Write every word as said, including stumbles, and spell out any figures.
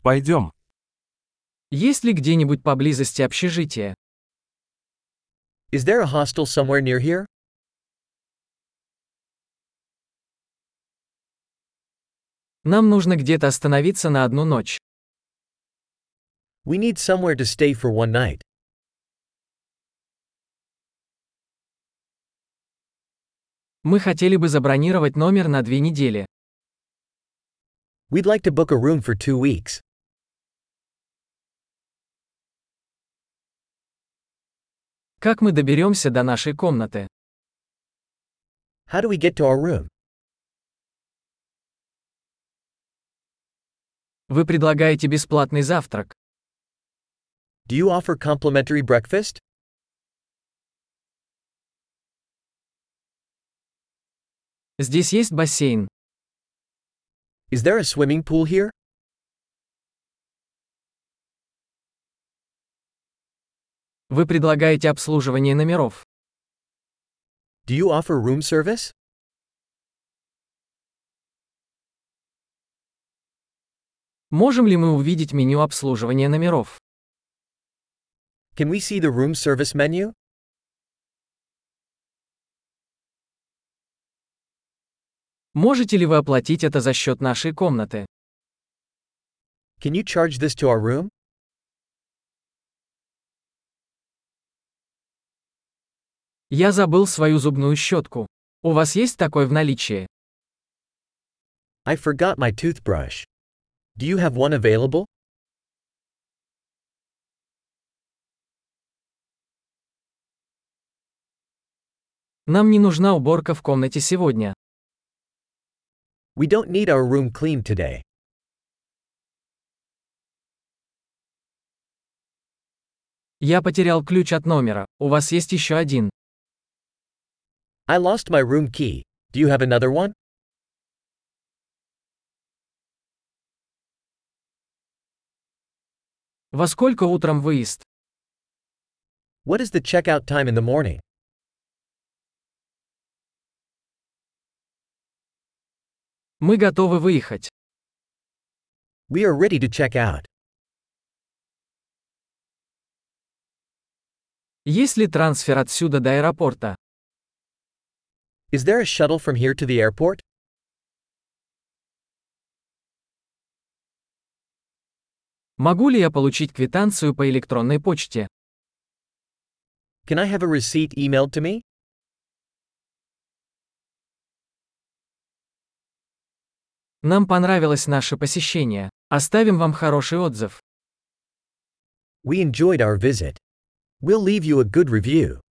Пойдем. Есть ли где-нибудь поблизости общежитие? Is there a hostel somewhere near here? Нам нужно где-то остановиться на одну ночь. We need somewhere to stay for one night. Мы хотели бы забронировать номер на две недели. We'd like to book a room for two weeks. Как мы доберемся до нашей комнаты? How do we get to our room? Вы предлагаете бесплатный завтрак. Do you offer complimentary breakfast? Здесь есть бассейн. Is there a swimming pool here? Вы предлагаете обслуживание номеров. Do you offer room service? Можем ли мы увидеть меню обслуживания номеров? Can we see the room service menu? Можете ли вы оплатить это за счет нашей комнаты? Can you charge this to our room? Я забыл свою зубную щетку. У вас есть такой в наличии? I forgot my toothbrush. Do you have one available? Нам не нужна уборка в комнате сегодня. We don't need our room cleaned today. Я потерял ключ от номера. У вас есть еще один? I lost my room key. Do you have another one? Во сколько утром выезд? What is the checkout time in the morning? Мы готовы выехать. We are ready to check out. Есть ли трансфер отсюда до аэропорта? Is there a shuttle from here to the airport? Могу ли я получить квитанцию по электронной почте? Can I have a receipt emailed to me? Нам понравилось наше посещение. Оставим вам хороший отзыв. We enjoyed our visit. We'll leave you a good review.